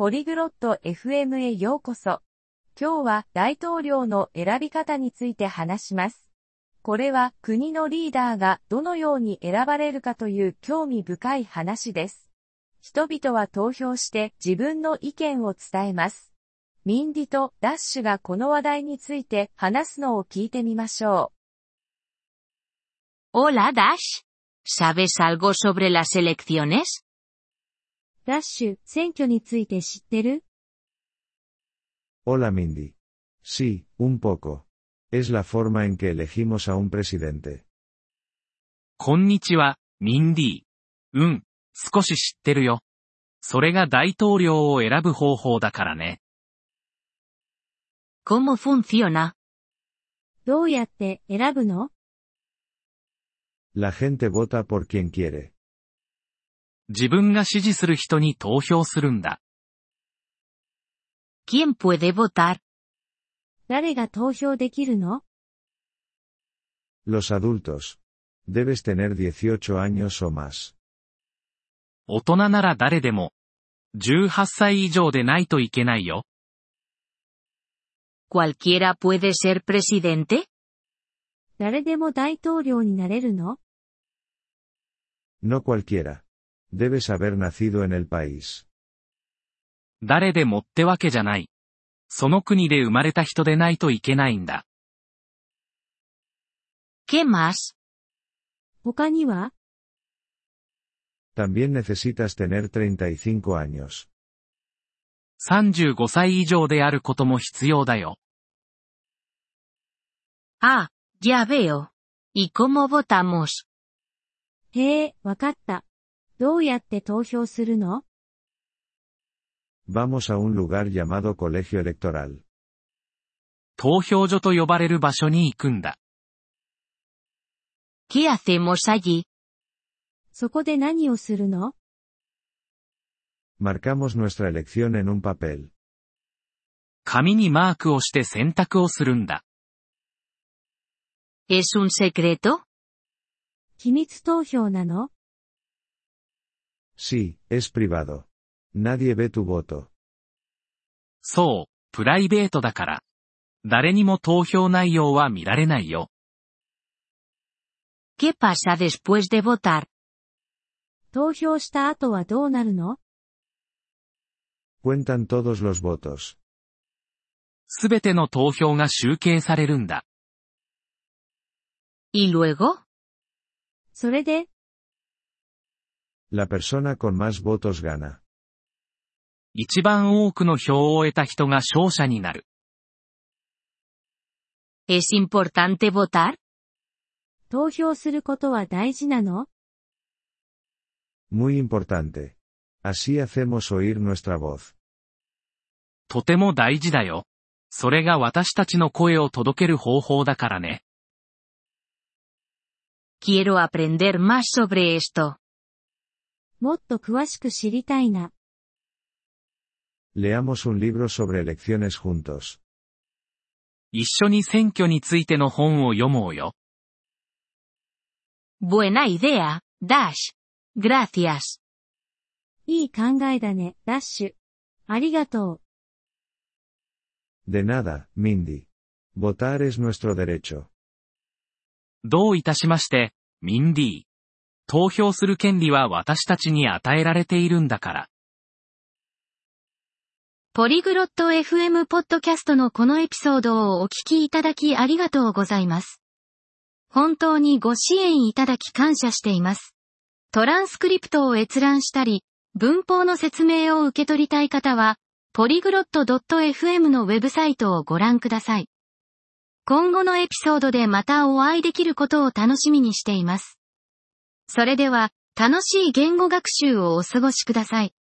ポリグロット FM へようこそ。今日は大統領の選び方について話します。これは国のリーダーがどのように選ばれるかという興味深い話です。人々は投票して自分の意見を伝えます。ミンディとダッシュがこの話題について話すのを聞いてみましょう。Hola Dash. ¿Sabes algo sobre las elecciones? ダッシュ、選挙について知ってる？ Hola Mindy. Sí, un poco. Es la forma en que elegimos a un presidente. こんにちは、ミンディ。少し知ってるよ。それが大統領を選ぶ方法だからね。 ¿Cómo funciona? どうやって選ぶの？ La gente vota por quien quiere. 自分が支持する人に投票するんだ。 ¿Quién puede votar? 誰が投票できるの？ Los adultos. Debes tener 18 años o más. 大人なら誰でも。18歳以上でないといけないよ。 ¿Cualquiera puede ser presidente? 誰でも大統領になれるの？ No cualquiera. Debes haber nacido en el país. 誰でもってわけじゃない。その国で生まれた人でないといけないんだ。 ¿Qué más? 他には？ También necesitas tener 35 años. 35歳以上であることも必要だよ。 Ah, ya veo. ¿Y cómo votamos? へえ、わかった。どうやって投票するの？ Vamos a un lugar llamado colegio electoral. 投票所と呼ばれる場所に行くんだ。 ¿Qué hacemos allí? そこで何をするの？ Marcamos nuestra elección en un papel. 紙にマークをして選択をするんだ。 ¿Es un secreto? 秘密投票なの？ Sí, es privado. Nadie ve tu voto. そう、プライベートだから。誰にも投票内容は見られないよ。 ¿Qué pasa después de votar? 投票した後はどうなるの？ Cuentan todos los votos. すべての投票が集計されるんだ。 ¿Y luego? それで？ La persona con más votos gana. 一番多くの票を得た人が勝者になる。 ¿Es importante votar? 投票することは大事なの？ Muy importante. Así hacemos oír nuestra voz. とても大事だよ。それが私たちの声を届ける方法だからね。 Quiero aprender más sobre esto. もっと詳しく知りたいな。 Leamos un libro sobre elecciones juntos. 一緒に選挙についての本を読もうよ。 Buena idea, Dash. Gracias. いい考えだね、ダッシュ。ありがとう。 De nada, Mindy. Votar es nuestro derecho. どういたしまして、ミンディ。投票する権利は私たちに与えられているんだから。 ポリグロット FM ポッドキャストのこのエピソードをお聞きいただきありがとうございます。本当にご支援いただき感謝しています。トランスクリプトを閲覧したり、文法の説明を受け取りたい方は、polyglot.fm のウェブサイトをご覧ください。今後のエピソードでまたお会いできることを楽しみにしています。それでは、楽しい言語学習をお過ごしください。